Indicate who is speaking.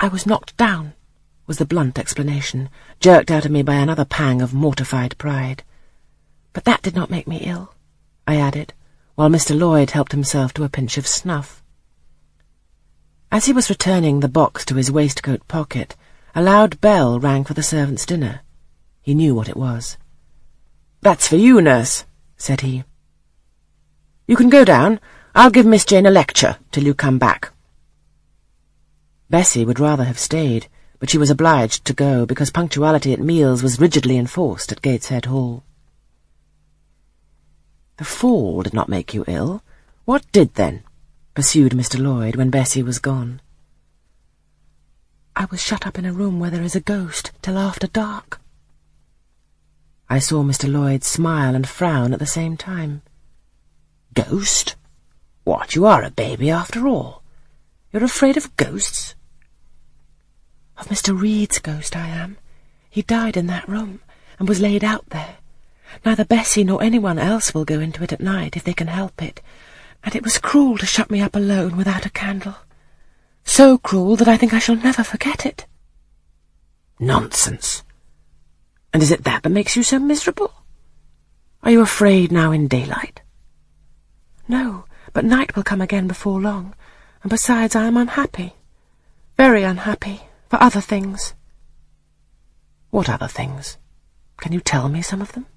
Speaker 1: "I was knocked down," was the blunt explanation, jerked out of me by another pang of mortified pride. "But that did not make me ill," I added, while Mr. Lloyd helped himself to a pinch of snuff. As he was returning the box to his waistcoat pocket, a loud bell rang for the servants' dinner. He knew what it was. "That's for you, nurse," said he. "You can go down. I'll give Miss Jane a lecture till you come back." Bessie would rather have stayed, but she was obliged to go because punctuality at meals was rigidly enforced at Gateshead Hall. "The fall did not make you ill. What did, then?" pursued Mr. Lloyd when Bessie was gone. "I was shut up in a room where there is a ghost till after dark." I saw Mr. Lloyd smile and frown at the same time. "Ghost? What, you are a baby after all. You're afraid of ghosts?" "Of Mr. Reed's ghost I am. He died in that room, and was laid out there. Neither Bessie nor anyone else will go into it at night if they can help it, and it was cruel to shut me up alone without a candle. So cruel that I think I shall never forget it." "Nonsense! And is it that makes you so miserable? Are you afraid now in daylight?" "No, but night will come again before long, and besides I am unhappy. Very unhappy, for other things." "What other things? Can you tell me some of them?"